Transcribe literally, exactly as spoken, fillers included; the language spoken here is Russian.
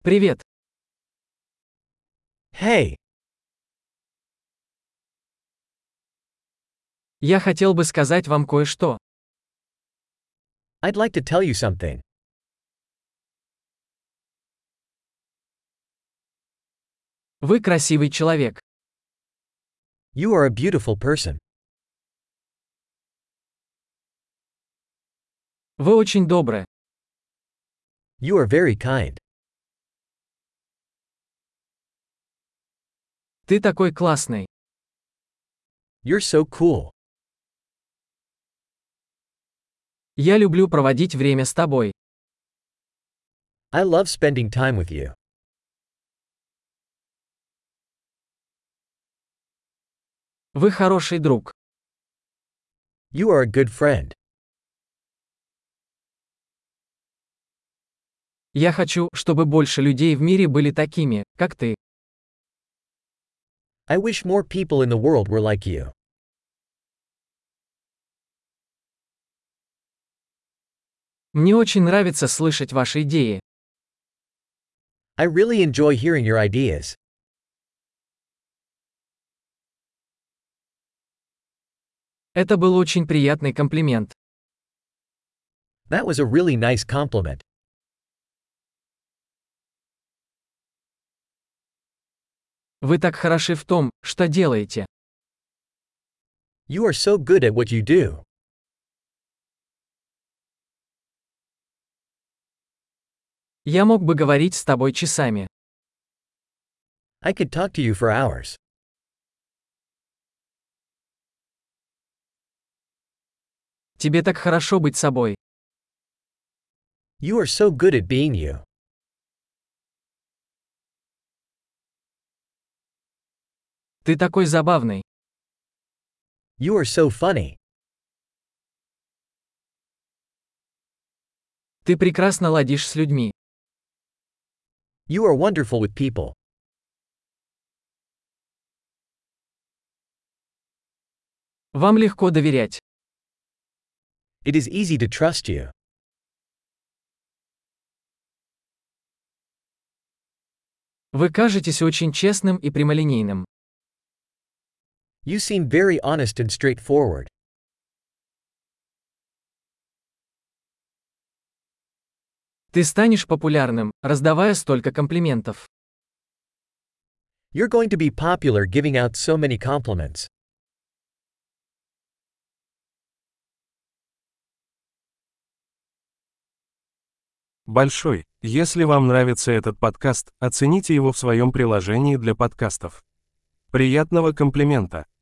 Привет. Hey, Я хотел бы сказать вам кое-что. I'd like to tell you something. Вы красивый человек. You are a beautiful person. Вы очень добры. You are very kind. Ты такой классный. You're so cool. Я люблю проводить время с тобой. I love spending time with you. Вы хороший друг. You are a good friend. Я хочу, чтобы больше людей в мире были такими, как ты. I wish more people in the world were like you. Мне очень нравится слышать ваши идеи. I really enjoy hearing your ideas. Это был очень приятный комплимент. That was a really nice compliment. Вы так хороши в том, что делаете. You are so good at what you do. Я мог бы говорить с тобой часами. I could talk to you for hours. Тебе так хорошо быть собой. You are so good at being you. Ты такой забавный. You are so funny. Ты прекрасно ладишь с людьми. You are wonderful with people. Вам легко доверять. It is easy to trust you. Вы кажетесь очень честным и прямолинейным. You seem very honest and straightforward. Ты станешь популярным, раздавая столько комплиментов. You're going to be popular giving out so many compliments. Большой. Если вам нравится этот подкаст, оцените его в своем приложении для подкастов. Приятного комплимента!